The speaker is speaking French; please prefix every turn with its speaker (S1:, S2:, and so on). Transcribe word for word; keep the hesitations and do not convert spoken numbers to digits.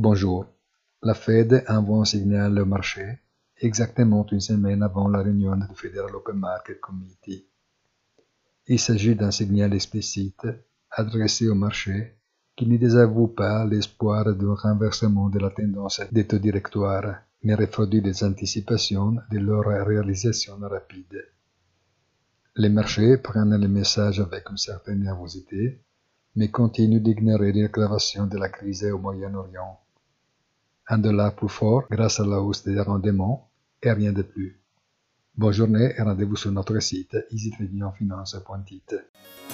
S1: Bonjour. La Fed envoie un signal au marché exactement une semaine avant la réunion du Federal Open Market Committee. Il s'agit d'un signal explicite adressé au marché qui ne désavoue pas l'espoir d'un renversement de la tendance des taux directoires, mais refroidit les anticipations de leur réalisation rapide. Les marchés prennent le message avec une certaine nervosité, mais continuent d'ignorer l'aggravation de la crise au Moyen-Orient. Un dollar plus fort grâce à la hausse des rendements et rien de plus. Bonne journée et rendez-vous sur notre site easy trading finance point it.